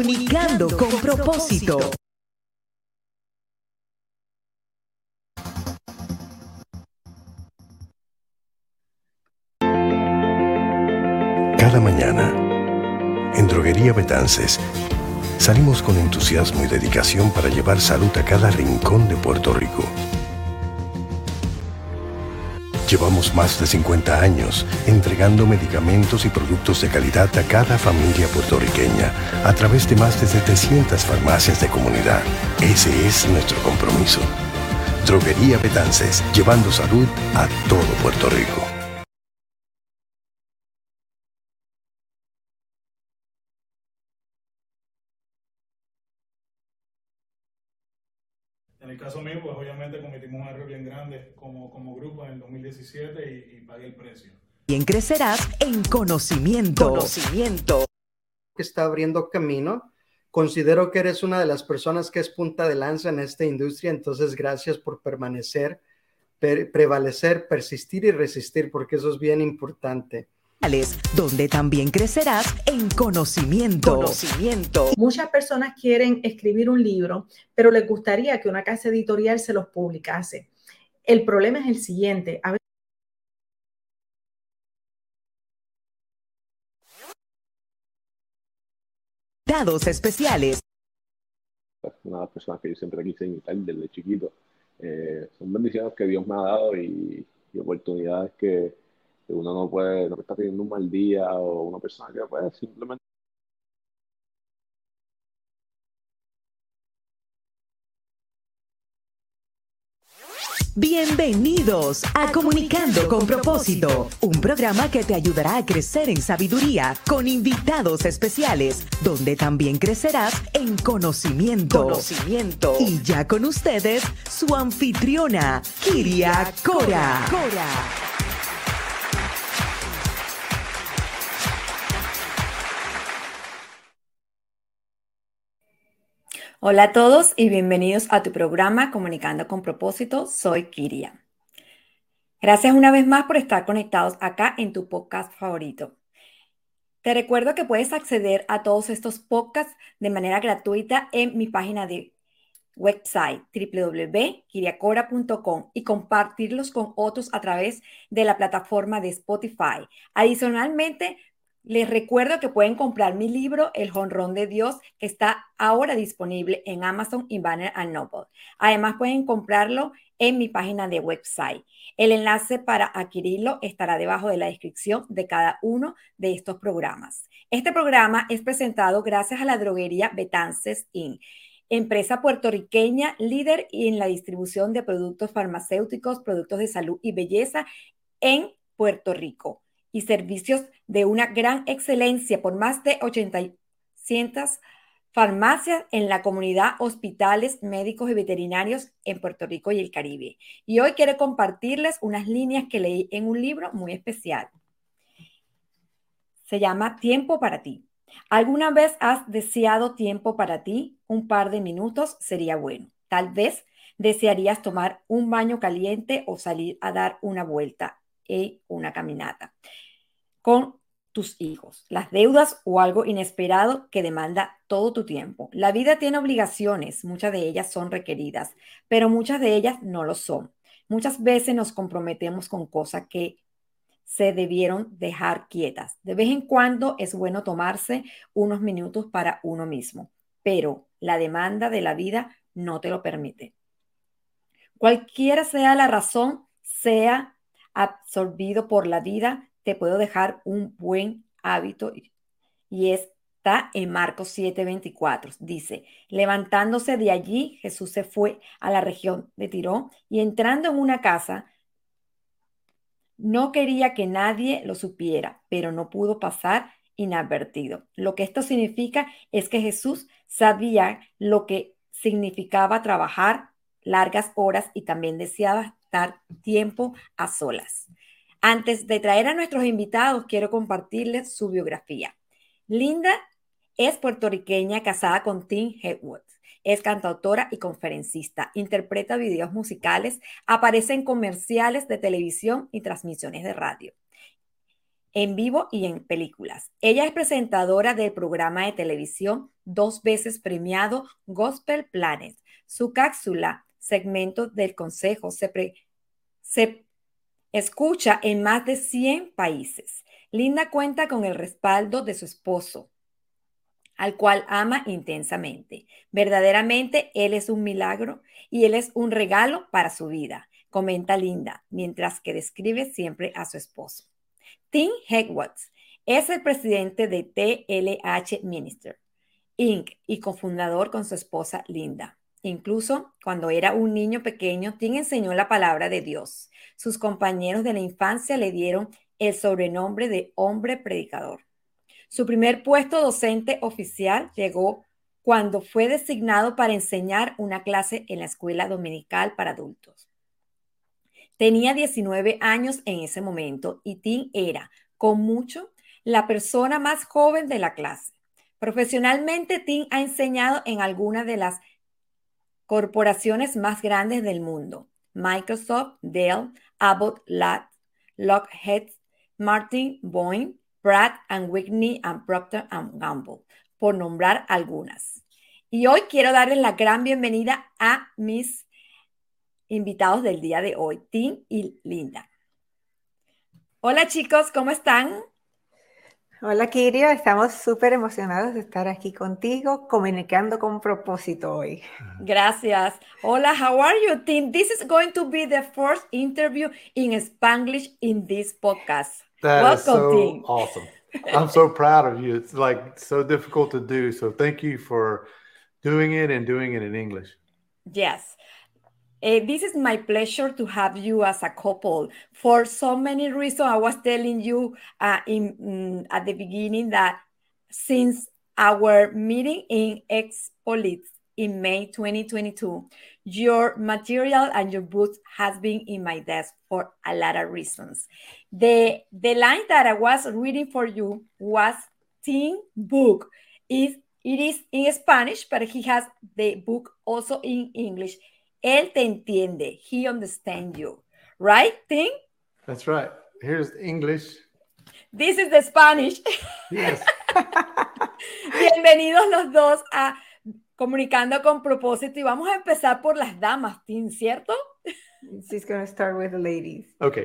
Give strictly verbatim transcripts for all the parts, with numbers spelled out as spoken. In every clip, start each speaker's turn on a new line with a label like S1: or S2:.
S1: Comunicando con propósito.
S2: Cada mañana, en Droguería Betances, salimos con entusiasmo y dedicación para llevar salud a cada rincón de Puerto Rico. Llevamos más de cincuenta años entregando medicamentos y productos de calidad a cada familia puertorriqueña a través de más de setecientas farmacias de comunidad. Ese es nuestro compromiso. Droguería Betances, llevando salud a todo Puerto Rico.
S3: En el caso mío, pues obviamente cometimos un error bien grande como, como grupo en el dos mil diecisiete y, y pagué el precio.
S1: Bien crecerás en conocimiento. Conocimiento.
S4: Que está abriendo camino. Considero que eres una de las personas que es punta de lanza en esta industria, entonces gracias por permanecer, per, prevalecer, persistir y resistir, porque eso es bien importante.
S1: Donde también crecerás en conocimiento. Conocimiento.
S5: Muchas personas quieren escribir un libro, pero les gustaría que una casa editorial se los publicase. El problema es el siguiente. A veces
S1: Dados especiales.
S6: Una de las personas que yo siempre quise imitar desde chiquito. Eh, son bendiciones que Dios me ha dado y, y oportunidades que que uno no puede, no está teniendo un mal día o una persona que puede simplemente.
S1: Bienvenidos a Comunicando con Propósito, un programa que te ayudará a crecer en sabiduría con invitados especiales, donde también crecerás en conocimiento. Conocimiento. Y ya con ustedes, su anfitriona, Kiria Cora. Cora.
S7: Hola a todos y bienvenidos a tu programa Comunicando con Propósito. Soy Kiria. Gracias una vez más por estar conectados acá en tu podcast favorito. Te recuerdo que puedes acceder a todos estos podcasts de manera gratuita en mi página de website doble u doble u doble u punto kiria cora punto com y compartirlos con otros a través de la plataforma de Spotify. Adicionalmente, les recuerdo que pueden comprar mi libro, El Jonrón de Dios, que está ahora disponible en Amazon y Barnes and Noble. Además, pueden comprarlo en mi página de website. El enlace para adquirirlo estará debajo de la descripción de cada uno de estos programas. Este programa es presentado gracias a la droguería Betances incorporated, empresa puertorriqueña líder en la distribución de productos farmacéuticos, productos de salud y belleza en Puerto Rico, y servicios de una gran excelencia por más de ochocientas farmacias en la comunidad, hospitales, médicos y veterinarios en Puerto Rico y el Caribe. Y hoy quiero compartirles unas líneas que leí en un libro muy especial. Se llama Tiempo para ti. ¿Alguna vez has deseado tiempo para ti? Un par de minutos sería bueno. Tal vez desearías tomar un baño caliente o salir a dar una vuelta y una caminata con tus hijos, las deudas o algo inesperado que demanda todo tu tiempo. La vida tiene obligaciones, muchas de ellas son requeridas, pero muchas de ellas no lo son. Muchas veces nos comprometemos con cosas que se debieron dejar quietas. De vez en cuando es bueno tomarse unos minutos para uno mismo, pero la demanda de la vida no te lo permite. Cualquiera sea la razón, sea absorbido por la vida, te puedo dejar un buen hábito y está en Marcos siete veinticuatro. Dice, levantándose de allí, Jesús se fue a la región de Tiro y entrando en una casa, no quería que nadie lo supiera, pero no pudo pasar inadvertido. Lo que esto significa es que Jesús sabía lo que significaba trabajar largas horas y también deseaba estar tiempo a solas. Antes de traer a nuestros invitados, quiero compartirles su biografía. Linda es puertorriqueña casada con Tim Hepworth. Es cantautora y conferencista, interpreta videos musicales, aparece en comerciales de televisión y transmisiones de radio. en vivo y en películas. Ella es presentadora del programa de televisión dos veces premiado Gospel Planet. Su cápsula, segmento del consejo, se, pre, se escucha en más de cien países. Linda cuenta con el respaldo de su esposo, al cual ama intensamente. Verdaderamente, él es un milagro y él es un regalo para su vida, comenta Linda, mientras que describe siempre a su esposo. Tim Hegwitz es el presidente de T L H Minister, incorporated y cofundador con su esposa Linda. Incluso cuando era un niño pequeño, Tim enseñó la palabra de Dios. Sus compañeros de la infancia le dieron el sobrenombre de hombre predicador. Su primer puesto docente oficial llegó cuando fue designado para enseñar una clase en la escuela dominical para adultos. Tenía diecinueve años en ese momento y Tim era, con mucho, la persona más joven de la clase. Profesionalmente, Tim ha enseñado en algunas de las corporaciones más grandes del mundo: Microsoft, Dell, Abbott, Lockheed Martin, Boeing, Pratt and Whitney and Procter and Gamble, por nombrar algunas. Y hoy quiero darles la gran bienvenida a mis invitados del día de hoy, Tim y Linda. Hola chicos, ¿cómo están?
S8: Hola Kiria, estamos súper emocionados de estar aquí contigo, comunicando con propósito hoy.
S7: Gracias. Hola, how are you, Tim? This is going to be the first interview in Spanglish in this podcast.
S9: That
S7: Welcome,
S9: is so
S7: Tim.
S9: awesome. I'm so proud of you. It's like so difficult to do. So thank you for doing it and doing it in English.
S7: Yes. Uh, this is my pleasure to have you as a couple. For so many reasons, I was telling you uh, in, mm, at the beginning that since our meeting in Expolit in May twenty twenty-two, your material and your book has been in my desk for a lot of reasons. The, the line that I was reading for you was Tim's book. It, it is in Spanish, but he has the book also in English. Él te entiende. He understands you. Right, Tim?
S9: That's right. Here's English.
S7: This is the Spanish.
S9: Yes.
S7: Bienvenidos los dos a Comunicando con Propósito. Y vamos a empezar por las damas, Tim, ¿cierto?
S8: She's going to start with the ladies.
S9: Okay.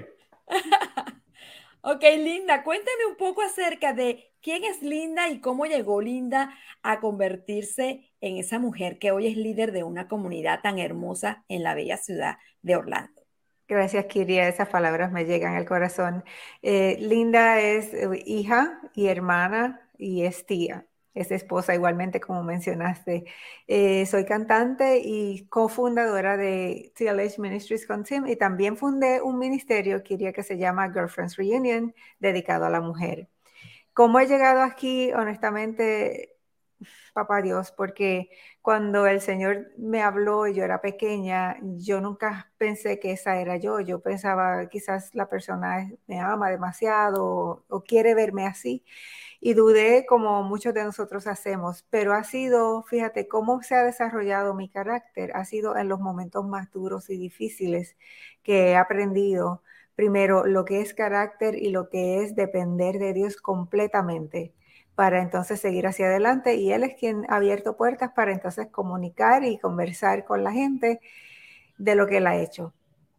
S7: Ok, Linda, cuéntame un poco acerca de quién es Linda y cómo llegó Linda a convertirse en esa mujer que hoy es líder de una comunidad tan hermosa en la bella ciudad de Orlando.
S8: Gracias, Kiria. Esas palabras me llegan al corazón. Eh, Linda es hija y hermana y es tía. Es esposa igualmente, como mencionaste. Eh, soy cantante y cofundadora de T L H Ministries con Tim, y también fundé un ministerio, Kiria, que se llama Girlfriends Reunion, dedicado a la mujer. ¿Cómo he llegado aquí? Honestamente, papá Dios, porque cuando el Señor me habló y yo era pequeña, yo nunca pensé que esa era yo. Yo pensaba quizás la persona me ama demasiado o, o quiere verme así. Y dudé, como muchos de nosotros hacemos, pero ha sido, fíjate, cómo se ha desarrollado mi carácter, ha sido en los momentos más duros y difíciles que he aprendido, primero, lo que es carácter y lo que es depender de Dios completamente para entonces seguir hacia adelante. Y Él es quien ha abierto puertas para entonces comunicar y conversar con la gente de lo que Él ha hecho.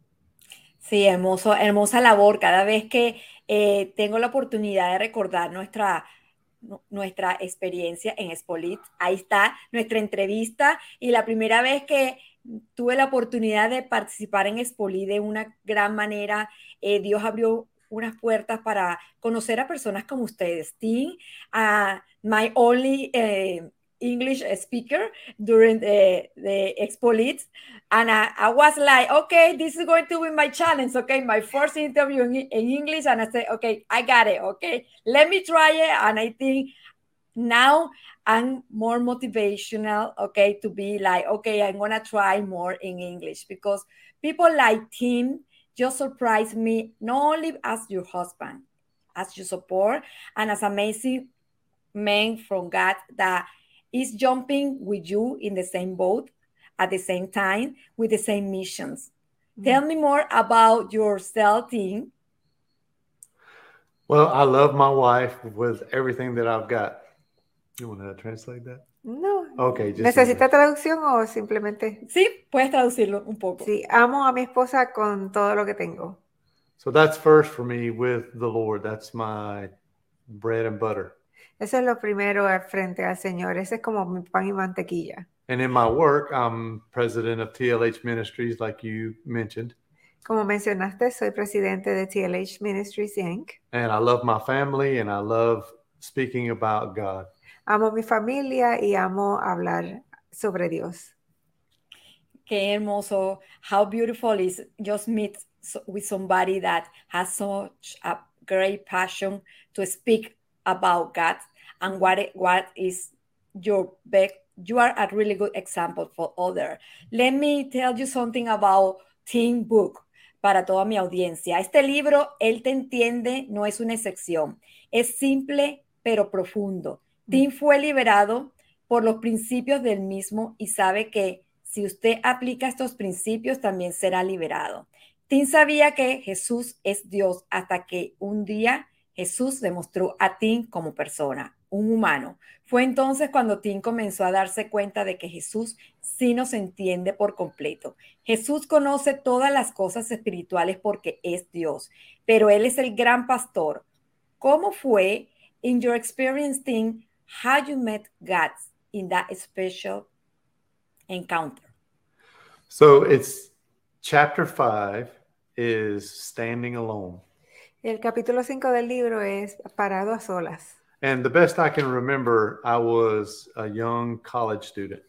S7: Sí, hermoso, hermosa labor. Cada vez que eh, tengo la oportunidad de recordar nuestra, nuestra experiencia en Expolit, ahí está nuestra entrevista, y la primera vez que tuve la oportunidad de participar en Expolit de una gran manera, eh, Dios abrió unas puertas para conocer a personas como ustedes. Tim, uh, my only uh, English speaker during the, the Expolit, and I, I was like, okay, this is going to be my challenge, okay, my first interview in, in English, and I said, okay, I got it, okay, let me try it, and I think now I'm more motivational, okay, to be like, okay, I'm gonna try more in English, because people like Tim just surprise me, not only as your husband, as your support, and as amazing man from God that is jumping with you in the same boat at the same time with the same missions. Mm-hmm. Tell me more about yourself, Tim.
S9: Well, I love my wife with everything that I've got. You want to translate that?
S8: No.
S9: Okay, just
S8: ¿Necesita
S9: English.
S8: traducción o simplemente?
S7: Sí, puedes traducirlo un poco.
S8: Sí, amo a mi esposa con todo lo que tengo.
S9: So that's first for me with the Lord. That's my bread and butter.
S8: Eso es lo primero al frente al Señor. Ese es como mi pan y mantequilla.
S9: And in my work, I'm president of T L H Ministries, like you mentioned.
S8: Como mencionaste, soy presidente de T L H Ministries, Incorporated.
S9: And I love my family and I love speaking about God.
S8: Amo mi familia y amo hablar sobre Dios.
S7: Qué hermoso. How beautiful is just meet so- with somebody that has such a great passion to speak about God and what it- what is your best. You are a really good example for others. Let me tell you something about Teen Book para toda mi audiencia. Este libro, Él te entiende, no es una excepción. Es simple pero profundo. Tim fue liberado por los principios del mismo y sabe que si usted aplica estos principios también será liberado. Tim sabía que Jesús es Dios hasta que un día Jesús demostró a Tim como persona, un humano. Fue entonces cuando Tim comenzó a darse cuenta de que Jesús sí nos entiende por completo. Jesús conoce todas las cosas espirituales porque es Dios, pero Él es el gran pastor. ¿Cómo fue, in your experience, Tim, how you met God in that special encounter?
S9: So it's chapter five is standing alone.
S8: El capítulo cinco del libro es Parado a solas.
S9: And the best I can remember, I was a young college student.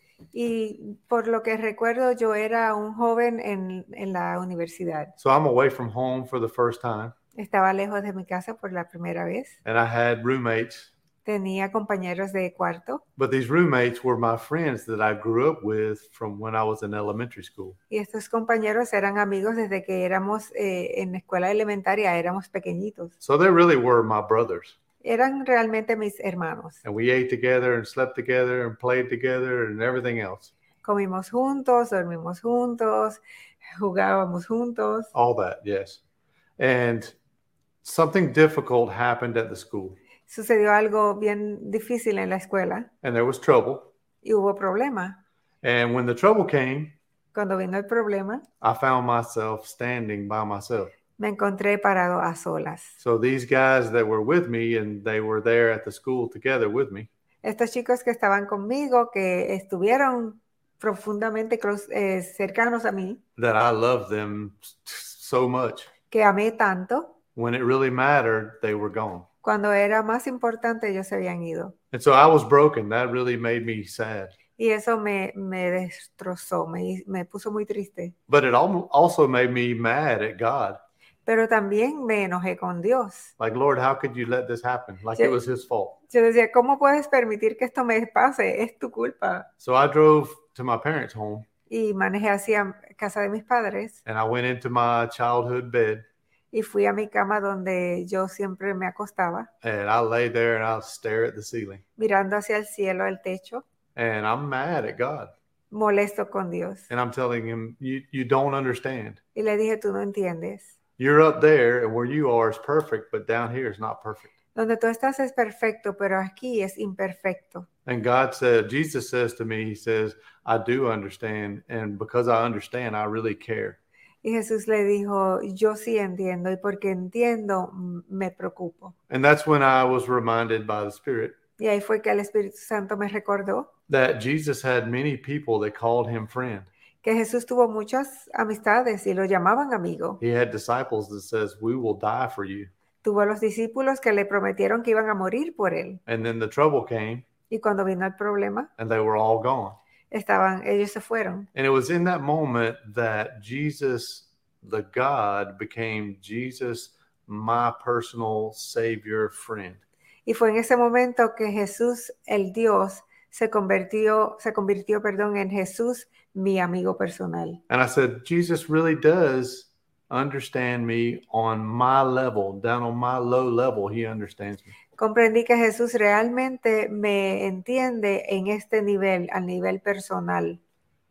S8: Y por lo que recuerdo, yo era un joven en, en la universidad.
S9: So I'm away from home for the first time.
S8: Estaba lejos de mi casa por la primera vez.
S9: And I had roommates.
S8: Tenía compañeros de cuarto.
S9: But these roommates were my friends that I grew up with from when I was in elementary school.
S8: Y estos compañeros eran amigos desde que éramos eh, en la escuela elementaria, éramos pequeñitos.
S9: So they really were my brothers.
S8: Eran realmente mis hermanos.
S9: And we ate together and slept together and played together and everything else.
S8: Comimos juntos, dormimos juntos, jugábamos juntos.
S9: All that, yes. And something difficult happened at the school.
S8: Sucedió algo bien difícil en la escuela
S9: And there was trouble.
S8: y hubo problema.
S9: And when the trouble came,
S8: Cuando vino el problema,
S9: I found myself standing by myself.
S8: me encontré parado a solas.
S9: So these guys that were with me, and they were there at the school together with me,
S8: Estos chicos que estaban conmigo, que estuvieron profundamente close- eh, cercanos a mí,
S9: that I loved them so much.
S8: que amé tanto,
S9: When it really mattered, they were gone.
S8: cuando era más importante ellos se habían ido.
S9: And so I was broken. That really made me sad.
S8: Y eso me, me destrozó, me, me puso muy triste.
S9: But it al- also made me mad at God.
S8: Pero también me enojé con Dios.
S9: Like, Lord, how could you let this happen? Like
S8: Sí.
S9: it was his fault.
S8: Yo decía, ¿cómo puedes permitir que esto me pase? Es tu culpa.
S9: So I drove to my parents' home
S8: Y manejé hacia casa de mis padres
S9: and I went into my childhood bed
S8: y fui a mi cama donde yo siempre me acostaba,
S9: and I lay there and I'll stare at the ceiling.
S8: mirando hacia el cielo, el techo,
S9: And I'm mad at God.
S8: molesto con Dios.
S9: And I'm telling him, you, you don't understand.
S8: Y le dije, tú no entiendes.
S9: You're up there and where you are is perfect, but down here is not perfect.
S8: Donde tú estás es perfecto, pero aquí es imperfecto.
S9: And God said, Jesus says to me, he says, I do understand. And because I understand, I really care.
S8: Y Jesús le dijo, yo sí entiendo y porque entiendo m- me preocupo.
S9: And that's when I was reminded by the Spirit
S8: Y ahí fue que el Espíritu Santo me recordó
S9: that Jesus had many people that called him friend.
S8: que Jesús tuvo muchas amistades y lo llamaban amigo.
S9: He had disciples that says, we will die for you.
S8: Tuvo a los discípulos que le prometieron que iban a morir por él.
S9: And then the trouble came
S8: Y cuando vino el problema,
S9: and they were all gone.
S8: estaban, ellos se fueron.
S9: And it was in that moment that Jesus, the God, became Jesus, my personal Savior friend.
S8: Y fue en ese momento que Jesús, el Dios, se convirtió, se convirtió, perdón, en Jesús, mi amigo personal.
S9: And I said, Jesus really does understand me on my level, down on my low level, he understands me.
S8: Comprendí que Jesús realmente me entiende en este nivel, al nivel personal.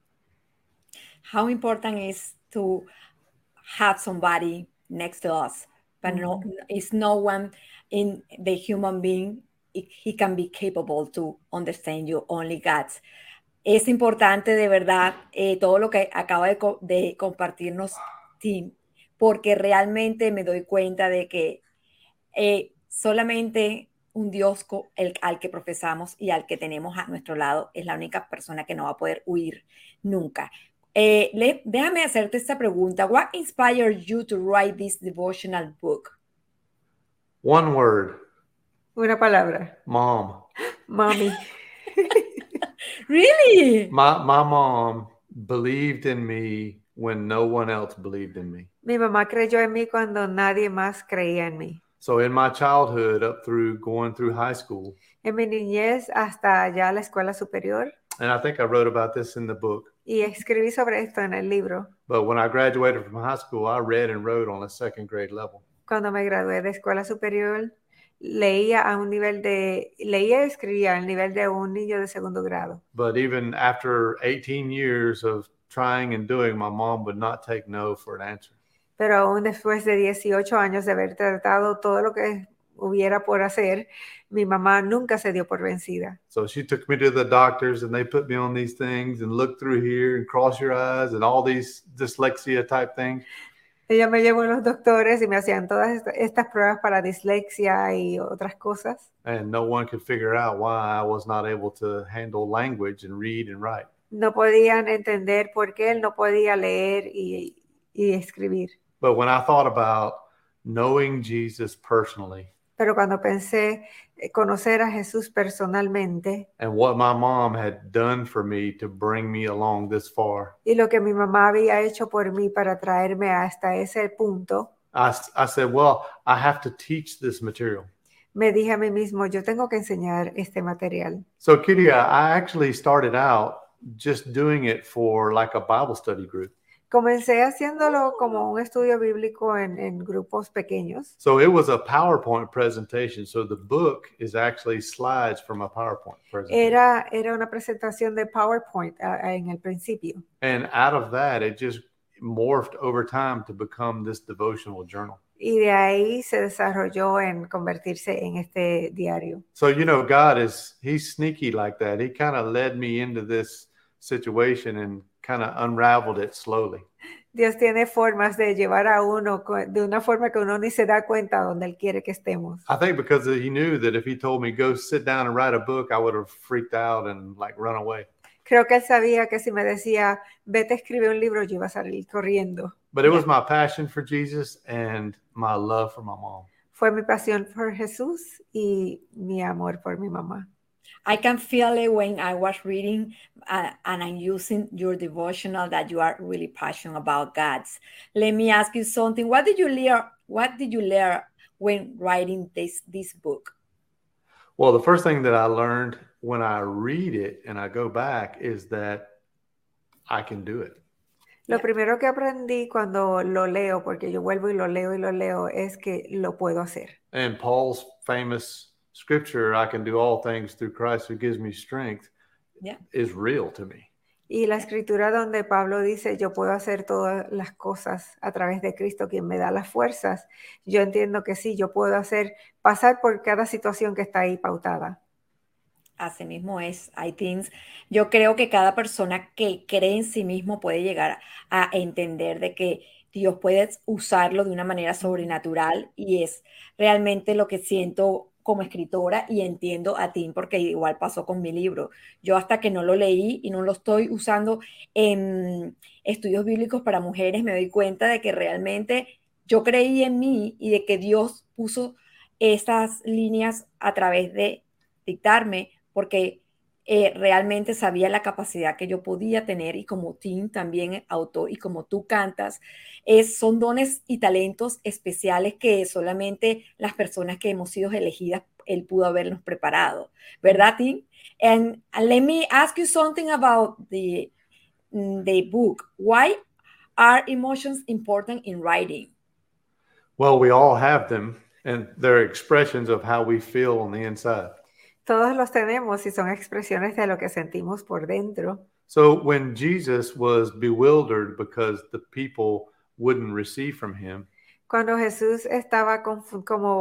S7: How important is to have somebody next to us, but no, it's no one in the human being, he can be capable to understand you, only God. Es importante de verdad eh, todo lo que acaba de, co de compartirnos Tim, porque realmente me doy cuenta de que eh, solamente un Dios el, al que profesamos y al que tenemos a nuestro lado es la única persona que no va a poder huir nunca. Eh, le, déjame hacerte esta pregunta. What inspired you to write this devotional book?
S9: One word.
S8: Una palabra.
S9: Mom.
S8: Mommy.
S7: Really?
S9: My, my mom believed in me when no one else believed in me.
S8: Mi mamá creyó en mí cuando nadie más creía en mí.
S9: So in my childhood, up through going through high school.
S8: En mi niñez hasta ya la escuela superior.
S9: And I think I wrote about this in the book.
S8: Y escribí sobre esto en el libro.
S9: But when I graduated from high school, I read and wrote on a second grade level.
S8: Cuando me gradué de escuela superior, leía a un nivel de, leía y escribía al nivel de un niño de segundo grado.
S9: But even after eighteen years of trying and doing, my mom would not take no for an answer.
S8: Pero aún después de dieciocho años de haber tratado todo lo que hubiera por hacer, mi mamá nunca se dio por vencida.
S9: So she took me to the doctors and they put me on these things and look through here and cross your eyes and all these dyslexia type things.
S8: Ella me llevó a los doctores y me hacían todas estas pruebas para dislexia y otras cosas.
S9: And no one could figure out why I was not able to handle language and read and write.
S8: No podían entender por qué él no podía leer y, y escribir.
S9: But when I thought about knowing Jesus personally,
S8: pero cuando pensé conocer a Jesús personalmente,
S9: and what my mom had done for me to bring me along this far,
S8: y lo que mi mamá había hecho por mí para traerme hasta ese punto,
S9: I, I said, well, I have to teach this material.
S8: Me dije a mí mismo, yo tengo que enseñar este material.
S9: So, Kiria, I actually started out just doing it for like a Bible study group.
S8: Comencé haciéndolo como un estudio bíblico en, en grupos pequeños.
S9: So it was a PowerPoint presentation. So the book is actually slides from a PowerPoint presentation.
S8: Era, era una presentación de PowerPoint uh, en el principio.
S9: And out of that, it just morphed over time to become this devotional journal.
S8: Y de ahí se desarrolló en convertirse en este diario.
S9: So, you know, God is, he's sneaky like that. He kind of led me into this situation and kind of unraveled it slowly.
S8: Dios tiene formas de llevar a uno de una forma que uno ni se da cuenta donde Él quiere que estemos.
S9: I think because he knew that if he told me go sit down and write a book, I would have freaked out and like run away.
S8: Creo que Él sabía que si me decía, vete a escribir un libro, yo iba a salir corriendo.
S9: But it was my passion for Jesus and my love for my mom.
S8: Fue mi pasión por Jesús y mi amor por mi mamá.
S7: I can feel it when I was reading uh, and I'm using your devotional that you are really passionate about God. Let me ask you something. What did you learn? What did you learn when writing this this book?
S9: Well, the first thing that I learned when I read it and I go back is that I can do it.
S8: Lo primero que aprendí cuando lo leo, porque yo vuelvo y lo leo y lo leo, es que lo puedo hacer.
S9: And Paul's famous scripture, I can do all things through Christ who gives me strength,
S7: yeah,
S9: is real to me.
S8: Y la escritura donde Pablo dice, yo puedo hacer todas las cosas a través de Cristo, quien me da las fuerzas. Yo entiendo que sí, yo puedo hacer, pasar por cada situación que está ahí pautada.
S7: Así mismo es, I think. Yo creo que cada persona que cree en sí mismo puede llegar a entender de que Dios puede usarlo de una manera sobrenatural, y es realmente lo que siento como escritora y entiendo a Tim, porque igual pasó con mi libro. Yo hasta que no lo leí y no lo estoy usando en estudios bíblicos para mujeres, me doy cuenta de que realmente yo creí en mí y de que Dios puso esas líneas a través de dictarme, porque eh, realmente sabía la capacidad que yo podía tener, y como Tim también autor y como tú cantas, es, son dones y talentos especiales que solamente las personas que hemos sido elegidas, Él pudo habernos preparado, ¿verdad, Tim? And let me ask you something about the, the book. Why are emotions important in writing?
S9: Well, we all have them, and they're expressions of how we feel on the inside.
S8: Todos los tenemos y son expresiones de lo que sentimos por dentro.
S9: So when Jesus was bewildered because the people wouldn't receive from him,
S8: cuando Jesús estaba conf- como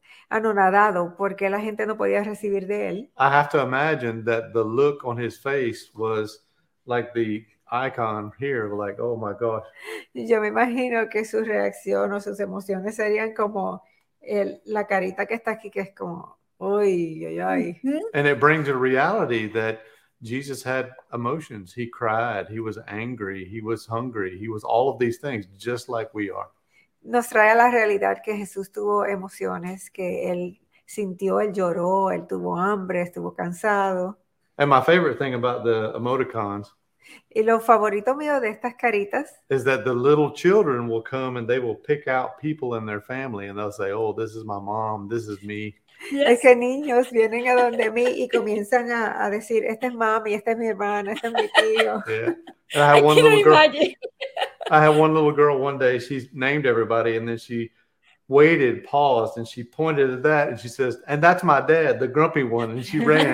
S8: anonadado porque la gente no podía recibir de él.
S9: I have to imagine that the look on his face was like the icon here, like, oh my gosh.
S8: Y yo me imagino que su reacción o sus emociones serían como el, la carita que está aquí, que es como, uy, ay, ay.
S9: And it brings a reality that Jesus had emotions. He cried, he was angry, he was hungry, he was all of these things, just like we are.
S8: Nos trae a la realidad que Jesús tuvo emociones, que él sintió, él lloró, él tuvo hambre, estuvo cansado.
S9: And my favorite thing about the emoticons
S8: Y lo favorito mío de estas caritas
S9: is that the little children will come and they will pick out people in their family and they'll say, oh, this is my mom, this is me.
S8: Yes. Es que niños vienen a donde mí y comienzan a, a decir, este es mami, este es mi hermana, este es mi tío.
S9: Yeah. And I had
S7: I
S9: one
S7: can't
S9: little girl.
S7: imagine.
S9: I had one little girl one day. She named everybody, and then she waited, paused, and she pointed at that, and she says, "And that's my dad, the grumpy one." And she ran.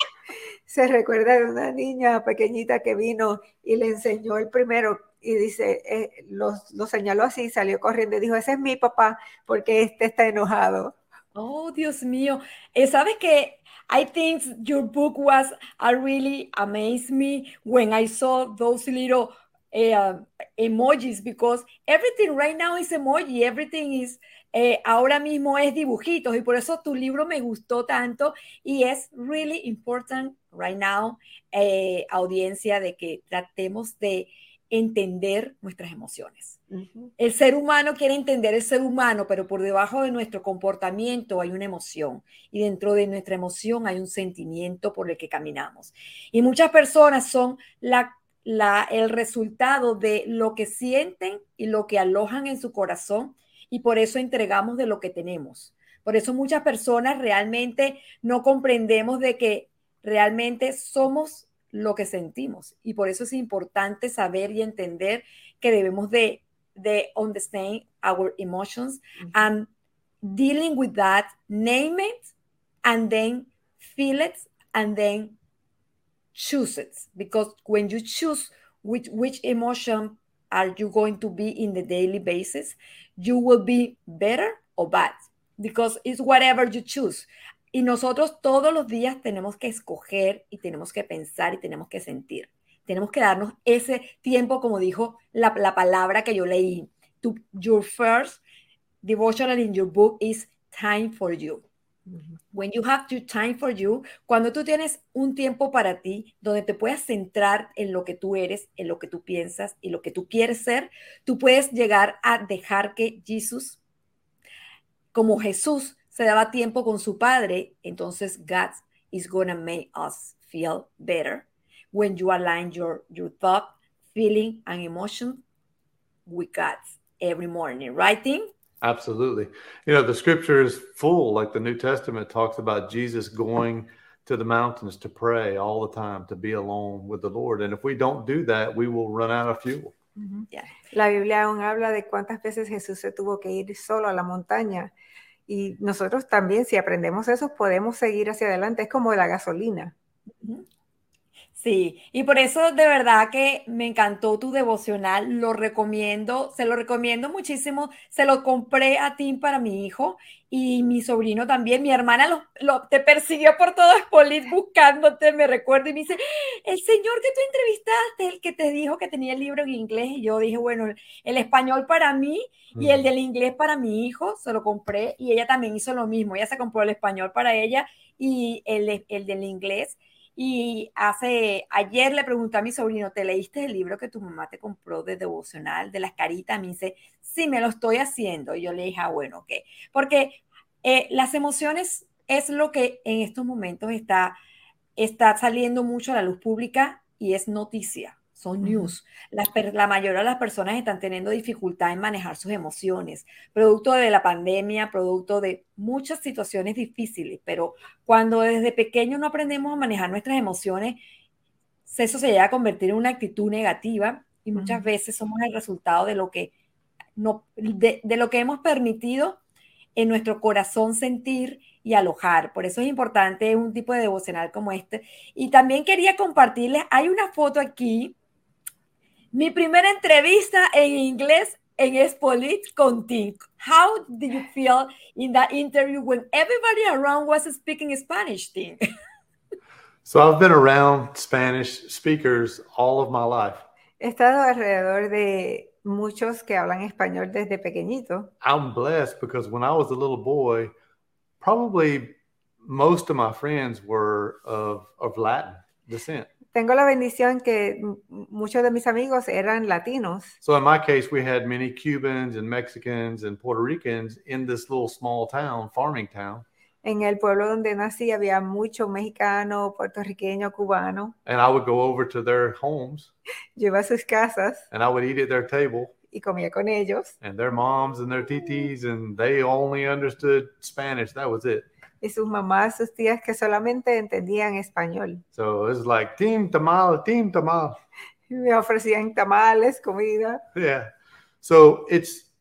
S8: Se recuerda de una niña pequeñita que vino y le enseñó el primero y dice, eh, lo, lo señaló así, salió corriendo y dijo, ese es mi papá porque este está enojado.
S7: Oh, Dios mío. Eh, ¿Sabes qué? I think your book was uh, really amazed me when I saw those little uh, emojis, because everything right now is emoji, everything is, eh, ahora mismo es dibujitos, y por eso tu libro me gustó tanto y es really important right now, eh, audiencia, de que tratemos de entender nuestras emociones. Uh-huh. El ser humano quiere entender el ser humano, pero por debajo de nuestro comportamiento hay una emoción y dentro de nuestra emoción hay un sentimiento por el que caminamos. Y muchas personas son la, la, el resultado de lo que sienten y lo que alojan en su corazón, y por eso entregamos de lo que tenemos. Por eso muchas personas realmente no comprendemos de que realmente somos lo que sentimos, y por eso es importante saber y entender que debemos de, de understand our emotions, mm-hmm. and dealing with that, name it, and then feel it, and then choose it, because when you choose which, which emotion are you going to be in the daily basis, you will be better or bad, because it's whatever you choose. Y nosotros todos los días tenemos que escoger y tenemos que pensar y tenemos que sentir. Tenemos que darnos ese tiempo, como dijo la, la palabra que yo leí. To, your first devotional in your book is time for you. Mm-hmm. When you have your time for you, cuando tú tienes un tiempo para ti, donde te puedas centrar en lo que tú eres, en lo que tú piensas y lo que tú quieres ser, tú puedes llegar a dejar que Jesús, como Jesús, se daba tiempo con su padre, entonces God is gonna make us feel better when you align your, your thought, feeling, and emotion with God every morning, right, Tim?
S9: Absolutely. You know, the scripture is full, like the New Testament talks about Jesus going to the mountains to pray all the time, to be alone with the Lord. And if we don't do that, we will run out of fuel.
S8: Uh-huh. Yeah. La Biblia aún habla de cuántas veces Jesús se tuvo que ir solo a la montaña. Y nosotros también, si aprendemos eso, podemos seguir hacia adelante. Es como la gasolina.
S7: Sí, y por eso de verdad que me encantó tu devocional. Lo recomiendo, se lo recomiendo muchísimo. Se lo compré a Tim para mi hijo y mi sobrino también. Mi hermana lo, lo, te persiguió por todo Spolit buscándote, me recuerdo, y me dice, el señor que tú entrevistaste, el que te dijo que tenía el libro en inglés. Y yo dije, bueno, el, el español para mí y el del inglés para mi hijo, se lo compré, y ella también hizo lo mismo. Ella se compró el español para ella y el, el del inglés. Y hace, ayer le pregunté a mi sobrino, ¿te leíste el libro que tu mamá te compró de devocional, de las caritas? Me dice, sí, me lo estoy haciendo. Y yo le dije, ah, bueno, ok. Porque eh, las emociones es lo que en estos momentos está, está saliendo mucho a la luz pública y es noticia. Son news. La, la mayoría de las personas están teniendo dificultad en manejar sus emociones, producto de la pandemia, producto de muchas situaciones difíciles, pero cuando desde pequeño no aprendemos a manejar nuestras emociones, eso se llega a convertir en una actitud negativa y muchas uh-huh. veces somos el resultado de lo que, no, de, de lo que hemos permitido en nuestro corazón sentir y alojar. Por eso es importante un tipo de devocional como este. Y también quería compartirles, hay una foto aquí. Mi primera entrevista en inglés en Expolit con Tim. How did you feel in that interview when everybody around was speaking Spanish, Tim?
S9: So I've been around Spanish speakers all of my life.
S8: He estado alrededor de muchos que hablan español desde pequeñito.
S9: I'm blessed because when I was a little boy, probably most of my friends were of, of Latin descent.
S8: Tengo la bendición que muchos de mis amigos eran latinos.
S9: So in my case, we had many Cubans and Mexicans and Puerto Ricans in this little small town, farming town.
S8: En el pueblo donde nací había mucho mexicano, puertorriqueño, cubano.
S9: And I would go over to their homes.
S8: Yo iba a sus casas.
S9: And I would eat at their table.
S8: Y comía con ellos.
S9: And their moms and their titis, and they only understood Spanish. That was it.
S8: Y sus mamás, sus tías que solamente entendían español.
S9: So it was like, team tamal, team tamal.
S8: Y me ofrecían tamales, comida.
S9: Yeah. So it's,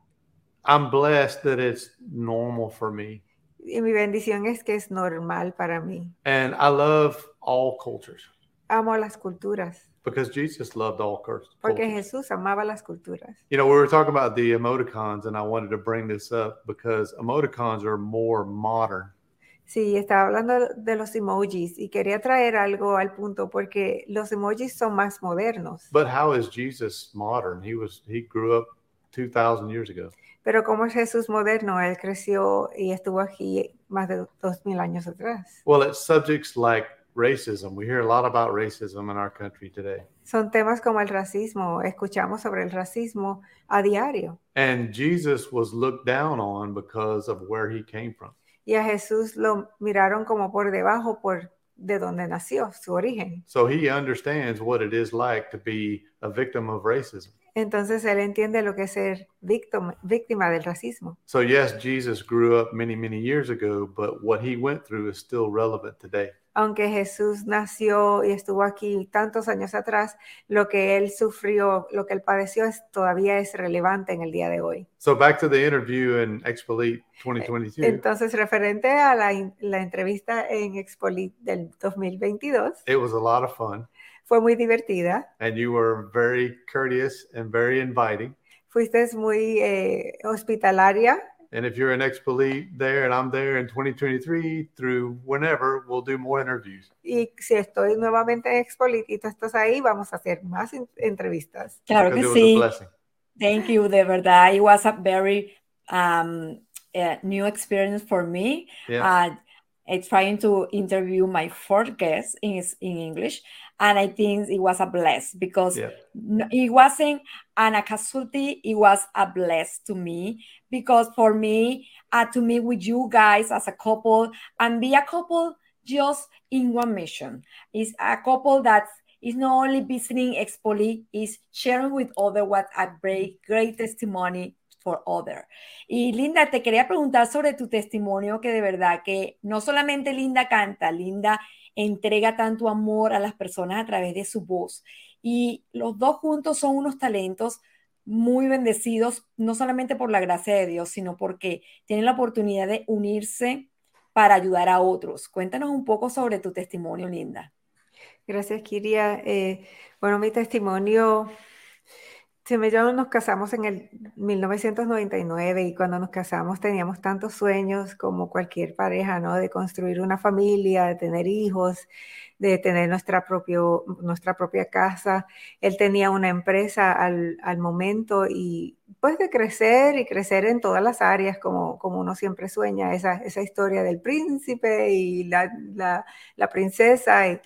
S9: I'm blessed that it's normal for me.
S8: Y mi bendición es que es normal para mí.
S9: And I love all cultures.
S8: Amo las culturas.
S9: Because Jesus loved all cultures.
S8: Porque Jesús amaba las culturas.
S9: You know, we were talking about the emoticons, and I wanted to bring this up because emoticons are more modern.
S8: Sí, estaba hablando de los emojis y quería traer algo al punto porque los emojis son más modernos.
S9: But how is Jesus modern? He was he grew up two thousand years ago.
S8: Pero ¿cómo es Jesús moderno? Él creció y estuvo aquí más de dos mil años atrás.
S9: Well, it's subjects like racism. We hear a lot about racism in our country today.
S8: Son temas como el racismo. Escuchamos sobre el racismo a diario.
S9: And Jesus was looked down on because of where he came from.
S8: Y a Jesús lo miraron como por debajo por de donde nació, su origen.
S9: So he understands what it is like to be a victim of racism.
S8: Entonces él entiende lo que es ser víctima, víctima del racismo.
S9: So yes, Jesus grew up many, many years ago, but what he went through is still relevant today.
S8: Aunque Jesús nació y estuvo aquí tantos años atrás, lo que él sufrió, lo que él padeció es, todavía es relevante en el día de hoy.
S9: So back to the interview in Expolit twenty twenty-two.
S8: Entonces, referente a la, la entrevista en Expolit del dos mil veintidós.
S9: It was a lot of fun.
S8: Fue muy divertida.
S9: And you were very courteous and very inviting.
S8: Fuiste muy eh, hospitalaria.
S9: And if you're in Expolit there and I'm there in twenty twenty-three, through whenever, we'll do more interviews.
S8: Y si estoy nuevamente en Expolit y tú estás ahí, vamos a hacer más entrevistas.
S7: Claro que sí. Thank you, de verdad. It was a very um, uh, new experience for me.
S9: Yeah.
S7: Uh, I'm trying to interview my fourth guest in, in English, and I think it was a bless because
S9: yeah.
S7: it wasn't an casualty, it was a bless to me because for me, uh, to meet with you guys as a couple and be a couple just in one mission. It's a couple that is not only visiting Expolit, is sharing with others what a great, great testimony for other. Y Linda, te quería preguntar sobre tu testimonio, que de verdad que no solamente Linda canta, Linda entrega tanto amor a las personas a través de su voz. Y los dos juntos son unos talentos muy bendecidos, no solamente por la gracia de Dios, sino porque tienen la oportunidad de unirse para ayudar a otros. Cuéntanos un poco sobre tu testimonio, Linda.
S8: Gracias, Kiria. Eh, bueno, mi testimonio... Tim y yo nos casamos en el mil novecientos noventa y nueve y cuando nos casamos teníamos tantos sueños como cualquier pareja, ¿no? De construir una familia, de tener hijos, de tener nuestra, propio, nuestra propia casa. Él tenía una empresa al, al momento y pues de crecer y crecer en todas las áreas como, como uno siempre sueña, esa, esa historia del príncipe y la, la, la princesa y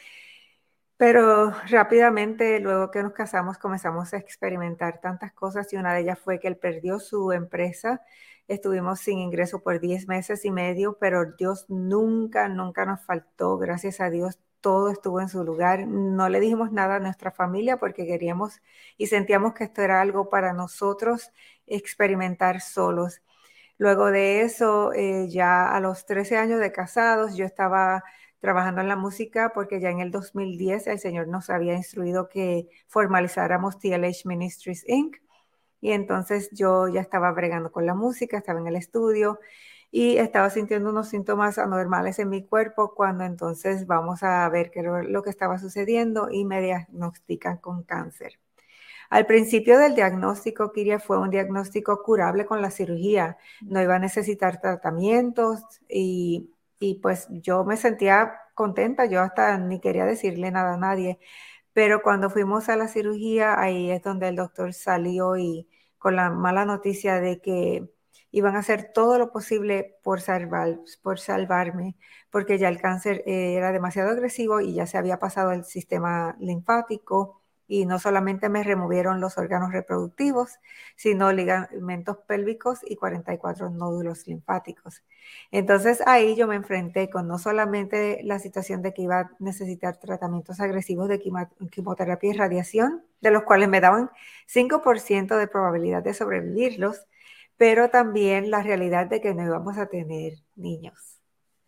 S8: pero rápidamente, luego que nos casamos, comenzamos a experimentar tantas cosas y una de ellas fue que él perdió su empresa. Estuvimos sin ingreso por diez meses y medio, pero Dios nunca, nunca nos faltó. Gracias a Dios, todo estuvo en su lugar. No le dijimos nada a nuestra familia porque queríamos y sentíamos que esto era algo para nosotros experimentar solos. Luego de eso, eh, ya a los trece años de casados, yo estaba trabajando en la música porque ya en el dos mil diez el Señor nos había instruido que formalizáramos T L H Ministries incorporated. Y entonces yo ya estaba bregando con la música, estaba en el estudio y estaba sintiendo unos síntomas anormales en mi cuerpo cuando entonces vamos a ver qué era lo que estaba sucediendo y me diagnostican con cáncer. Al principio del diagnóstico, Kiria, fue un diagnóstico curable con la cirugía. No iba a necesitar tratamientos y, y pues yo me sentía contenta. Yo hasta ni quería decirle nada a nadie. Pero cuando fuimos a la cirugía, ahí es donde el doctor salió y con la mala noticia de que iban a hacer todo lo posible por, salvar, por salvarme, porque ya el cáncer eh, era demasiado agresivo y ya se había pasado el sistema linfático. Y no solamente me removieron los órganos reproductivos, sino ligamentos pélvicos y cuarenta y cuatro nódulos linfáticos. Entonces ahí yo me enfrenté con no solamente la situación de que iba a necesitar tratamientos agresivos de quimioterapia y radiación, de los cuales me daban cinco por ciento de probabilidad de sobrevivirlos, pero también la realidad de que no íbamos a tener niños.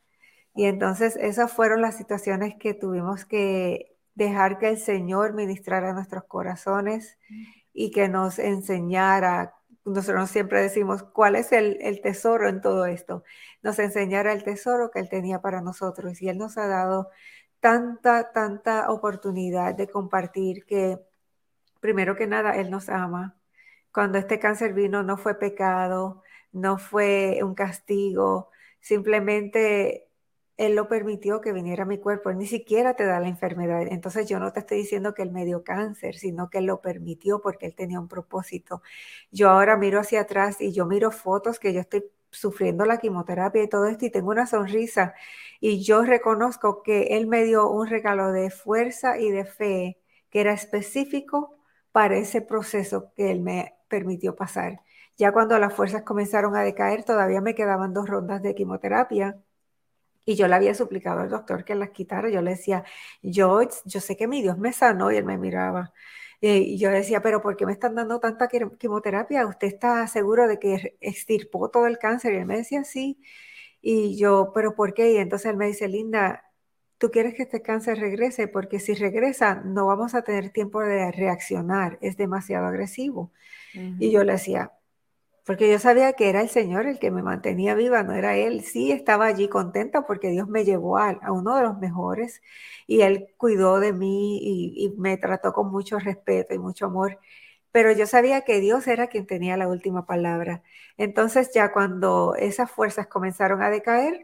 S8: Y entonces esas fueron las situaciones que tuvimos que dejar que el Señor ministrara nuestros corazones y que nos enseñara. Nosotros siempre decimos, ¿cuál es el, el tesoro en todo esto? Nos enseñara el tesoro que Él tenía para nosotros. Y Él nos ha dado tanta, tanta oportunidad de compartir que, primero que nada, Él nos ama. Cuando este cáncer vino no fue pecado, no fue un castigo, simplemente Él lo permitió que viniera a mi cuerpo. Él ni siquiera te da la enfermedad. Entonces yo no te estoy diciendo que Él me dio cáncer, sino que Él lo permitió porque Él tenía un propósito. Yo ahora miro hacia atrás y yo miro fotos que yo estoy sufriendo la quimioterapia y todo esto y tengo una sonrisa. Y yo reconozco que Él me dio un regalo de fuerza y de fe que era específico para ese proceso que Él me permitió pasar. Ya cuando las fuerzas comenzaron a decaer, todavía me quedaban dos rondas de quimioterapia. Y yo le había suplicado al doctor que las quitara. Yo le decía, yo, yo sé que mi Dios me sanó, y él me miraba. Eh, y yo decía, pero ¿por qué me están dando tanta quimioterapia? ¿Usted está seguro de que extirpó todo el cáncer? Y él me decía, sí. Y yo, ¿pero por qué? Y entonces él me dice, Linda, tú quieres que este cáncer regrese, porque si regresa no vamos a tener tiempo de reaccionar, es demasiado agresivo. Uh-huh. Y yo le decía, porque yo sabía que era el Señor el que me mantenía viva, no era Él. Sí, estaba allí contenta porque Dios me llevó a, a uno de los mejores y Él cuidó de mí y, y me trató con mucho respeto y mucho amor. Pero yo sabía que Dios era quien tenía la última palabra. Entonces ya cuando esas fuerzas comenzaron a decaer,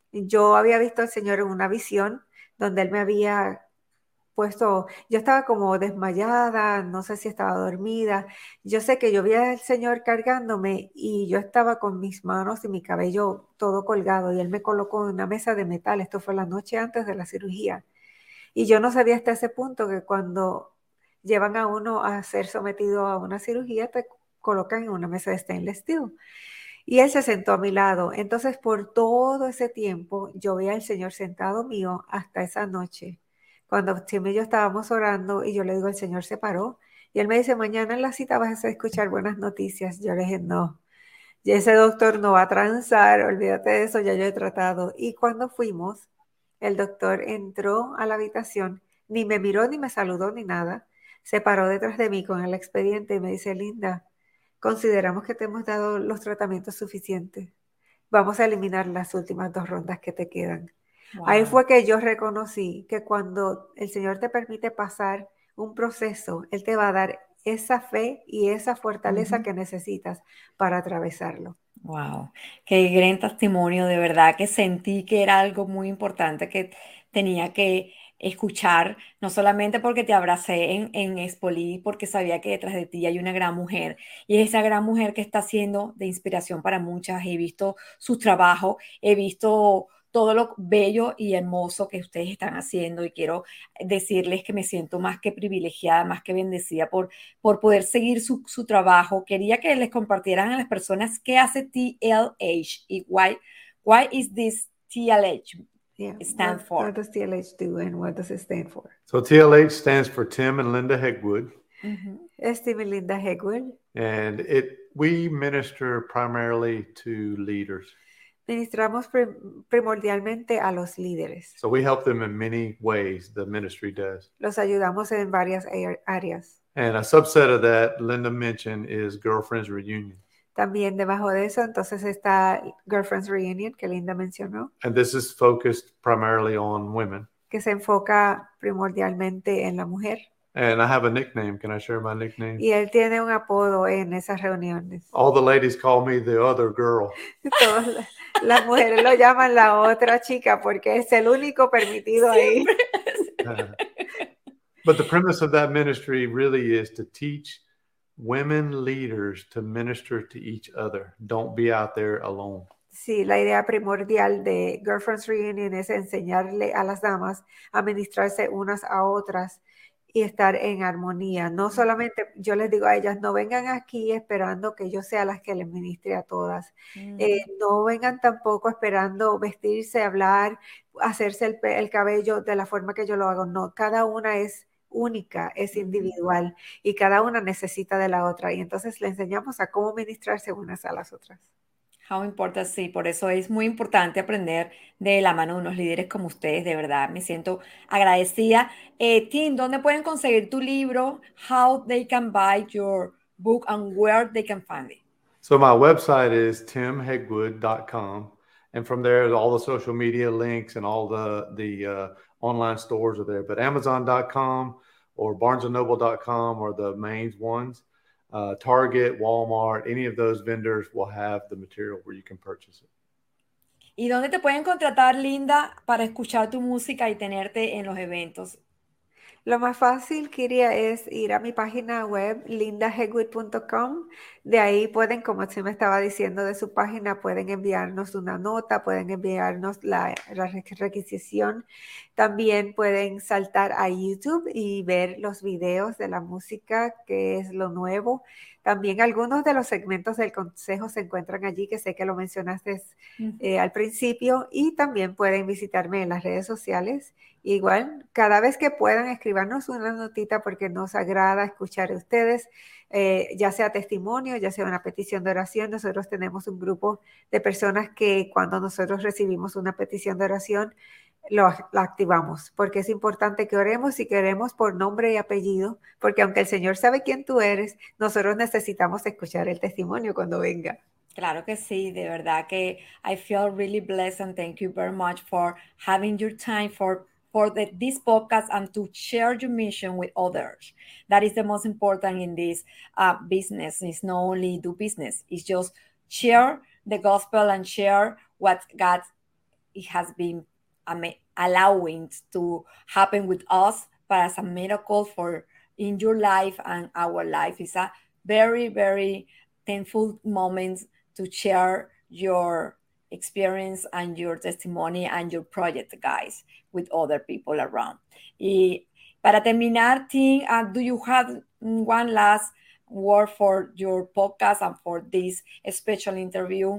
S8: yo había visto al Señor en una visión donde Él me había puesto, yo estaba como desmayada, no sé si estaba dormida. Yo sé que yo vi al Señor cargándome y yo estaba con mis manos y mi cabello todo colgado y Él me colocó en una mesa de metal. Esto fue la noche antes de la cirugía. Y yo no sabía hasta ese punto que cuando llevan a uno a ser sometido a una cirugía, te colocan en una mesa de stainless steel. Y Él se sentó a mi lado. Entonces, por todo ese tiempo, yo veía al Señor sentado mío hasta esa noche. Cuando Tim y yo estábamos orando y yo le digo, el Señor se paró. Y Él me dice, mañana en la cita vas a escuchar buenas noticias. Yo le dije, no, ya ese doctor no va a transar, olvídate de eso, ya yo he tratado. Y cuando fuimos, el doctor entró a la habitación, ni me miró, ni me saludó, ni nada. Se paró detrás de mí con el expediente y me dice, Linda, consideramos que te hemos dado los tratamientos suficientes. Vamos a eliminar las últimas dos rondas que te quedan. Wow. Ahí fue que yo reconocí que cuando el Señor te permite pasar un proceso, Él te va a dar esa fe y esa fortaleza uh-huh. que necesitas para atravesarlo.
S7: Wow, qué gran testimonio, de verdad que sentí que era algo muy importante que tenía que escuchar, no solamente porque te abracé en, en Espolí, porque sabía que detrás de ti hay una gran mujer, y es esa gran mujer que está siendo de inspiración para muchas. He visto su trabajo, he visto todo lo bello y hermoso que ustedes están haciendo, y quiero decirles que me siento más que privilegiada, más que bendecida por, por poder seguir su, su trabajo. Quería que les compartieran a las personas qué hace T L H y why, why is this T L H
S8: yeah.
S7: stand
S8: what,
S7: for?
S8: What does T L H do and what does it stand for?
S9: So T L H stands for Tim and Linda Hegwood.
S8: Mm-hmm. Es Tim y Linda Hegwood.
S9: And it we minister primarily to leaders.
S8: Ministramos prim- primordialmente a los líderes.
S9: So we help them in many ways, the ministry does.
S8: Los ayudamos en varias áreas.
S9: And a subset of that, Linda mentioned, is Girlfriends Reunion.
S8: También debajo de eso, entonces está Girlfriends Reunion, que Linda mencionó.
S9: And this is focused primarily on women.
S8: Que se enfoca primordialmente en la mujer.
S9: And I have a nickname. Can I share my nickname?
S8: Y él tiene un apodo en esas reuniones.
S9: All the ladies call me the other girl.
S8: Todas las, las mujeres lo llaman la otra chica porque es el único permitido ahí.
S9: But the premise of that ministry really is to teach women leaders to minister to each other. Don't be out there alone.
S8: Sí, la idea primordial de Girlfriends Reunion es enseñarle a las damas a ministrarse unas a otras y estar en armonía. No solamente, yo les digo a ellas, no vengan aquí esperando que yo sea las que les ministre a todas. Mm. Eh, no vengan tampoco esperando vestirse, hablar, hacerse el, el cabello de la forma que yo lo hago. No, cada una es única, es individual y cada una necesita de la otra. Y entonces le enseñamos a cómo ministrarse unas a las otras.
S7: How important, sí, por eso es muy importante aprender de la mano de unos líderes como ustedes, de verdad, me siento agradecida. Eh, Tim, ¿dónde pueden conseguir tu libro? How they can buy your book and where they can find it?
S9: So my website is tim hegwood dot com, and from there, all the social media links and all the, the uh, online stores are there, but amazon dot com or barnes and noble dot com are the main ones. Uh, Target, Walmart, any of those vendors will have the material where you can purchase it.
S7: ¿Y dónde te pueden contratar, Linda, para escuchar tu música y tenerte en los eventos?
S8: Lo más fácil, Kiria, es ir a mi página web, linda hegwood punto com. De ahí pueden, como usted me estaba diciendo de su página, pueden enviarnos una nota, pueden enviarnos la, la requisición. También pueden saltar a YouTube y ver los videos de la música, que es lo nuevo. También algunos de los segmentos del consejo se encuentran allí, que sé que lo mencionaste uh-huh. eh, al principio. Y también pueden visitarme en las redes sociales. Igual, cada vez que puedan, escribirnos una notita porque nos agrada escuchar a ustedes, eh, ya sea testimonio, ya sea una petición de oración. Nosotros tenemos un grupo de personas que cuando nosotros recibimos una petición de oración, lo, la activamos, porque es importante que oremos y que oremos por nombre y apellido, porque aunque el Señor sabe quién tú eres, nosotros necesitamos escuchar el testimonio cuando venga.
S7: Claro que sí, de verdad que I feel really blessed and thank you very much for having your time for for the, this podcast and to share your mission with others. That is the most important in this uh, business. It's not only do business, it's just share the gospel and share what God it has been um, allowing to happen with us, but as a miracle for in your life and our life. It's a very, very thankful moment to share your experience and your testimony and your project, guys, with other people around. Y para terminar, Tim, uh, do you have one last word for your podcast and for this special interview?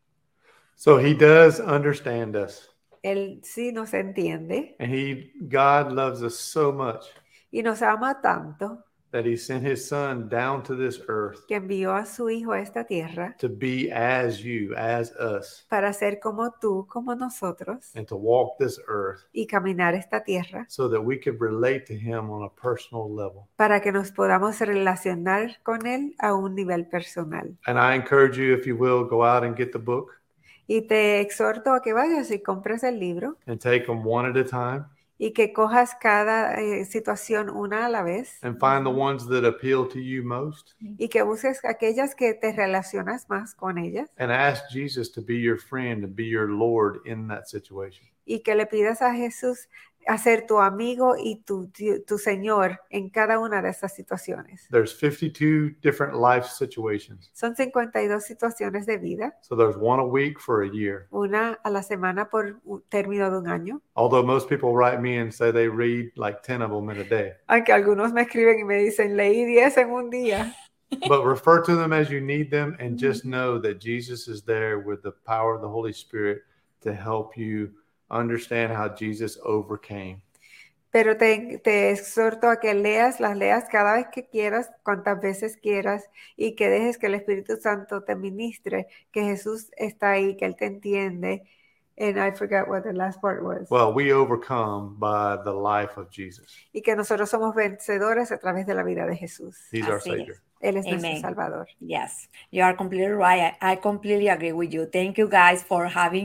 S9: So he does understand us.
S8: Él sí nos entiende.
S9: And he, God loves us so much.
S8: Y nos ama tanto.
S9: That he sent his son down to this earth.
S8: Que envió a su hijo a esta tierra.
S9: To be as you, as us.
S8: Para ser como tú, como nosotros.
S9: And to walk this earth.
S8: Y caminar esta tierra.
S9: So that we could relate to him on a personal level.
S8: Para que nos podamos relacionar con él a un nivel personal.
S9: And I encourage you, if you will, go out and get the book.
S8: Y te exhorto a que vayas y compres el libro.
S9: And take them one at a time.
S8: Y que cojas cada eh, situación una a la vez.
S9: And find the ones that appeal to you most.
S8: Y que busques aquellas que te relacionas más con ellas.
S9: And ask Jesus to be your friend and be your Lord in that situation.
S8: Y que le pidas a Jesús a ser tu amigo y tu, tu, tu Señor en cada una de estas situaciones.
S9: There's fifty-two different life situations.
S8: Son cincuenta y dos situaciones de vida.
S9: So there's one a week for a year.
S8: Una a la semana por un término de un año.
S9: Although most people write me and say they read like ten of them in a day.
S8: Aunque algunos me escriben y me dicen, leí diez en un día.
S9: But refer to them as you need them and just know that Jesus is there with the power of the Holy Spirit to help you understand how Jesus overcame.
S8: Pero te, te exhorto a que leas, las leas cada vez que quieras, cuantas veces quieras, y que dejes que el Espíritu Santo te ministre, que Jesús está ahí, que Él te entiende. And I forgot what the last part was.
S9: Well, we overcome by the life of Jesus.
S8: Y que nosotros somos vencedores a través de la vida de Jesús.
S9: He's our Savior.
S8: Él es
S7: Amen.
S8: Nuestro Salvador.
S7: Yes, you are completely right. I, I completely agree with you. Thank you guys for having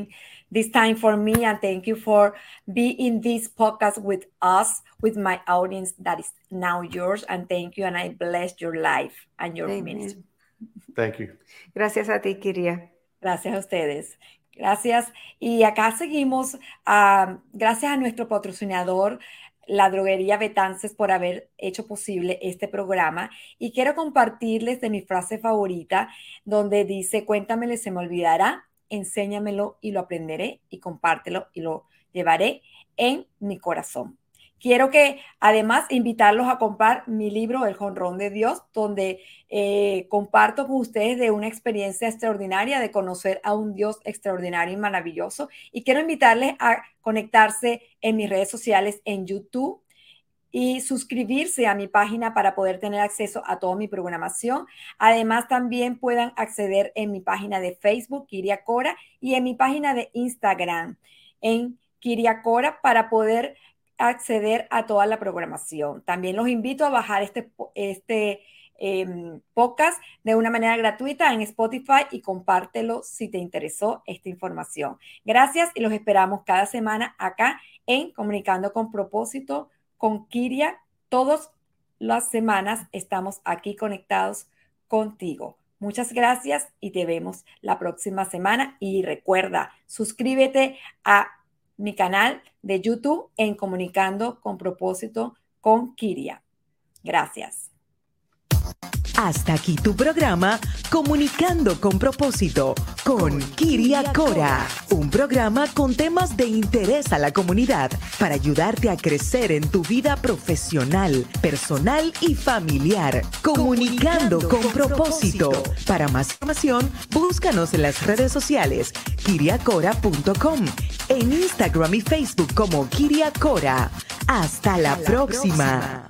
S7: this time for me, and thank you for being in this podcast with us, with my audience that is now yours. And thank you, and I bless your life and your
S8: Amen.
S7: ministry.
S9: Thank you.
S8: Gracias a ti, Kiria.
S7: Gracias a ustedes. Gracias. Y acá seguimos. Uh, gracias a nuestro patrocinador, la droguería Betances, por haber hecho posible este programa. Y quiero compartirles de mi frase favorita, donde dice: cuéntamelo y se me olvidará, enséñamelo y lo aprenderé, y compártelo y lo llevaré en mi corazón. Quiero que además invitarlos a comprar mi libro El Jonrón de Dios, donde eh, comparto con ustedes de una experiencia extraordinaria de conocer a un Dios extraordinario y maravilloso. Y quiero invitarles a conectarse en mis redes sociales en YouTube y suscribirse a mi página para poder tener acceso a toda mi programación. Además, también puedan acceder en mi página de Facebook, Kiria Cora, y en mi página de Instagram, en Kiria Cora, para poder acceder a toda la programación. También los invito a bajar este, este eh, podcast de una manera gratuita en Spotify y compártelo si te interesó esta información. Gracias y los esperamos cada semana acá en Comunicando con Propósito con Kiria. Todas las semanas estamos aquí conectados contigo. Muchas gracias y te vemos la próxima semana. Y recuerda, suscríbete a mi canal de YouTube en Comunicando con Propósito con Kiria. Gracias.
S1: Hasta aquí tu programa Comunicando con Propósito con Kiria Cora, un programa con temas de interés a la comunidad para ayudarte a crecer en tu vida profesional, personal y familiar. Comunicando con Propósito. Para más información, búscanos en las redes sociales kiria cora punto com, en Instagram y Facebook como Kiria Cora. Hasta la próxima.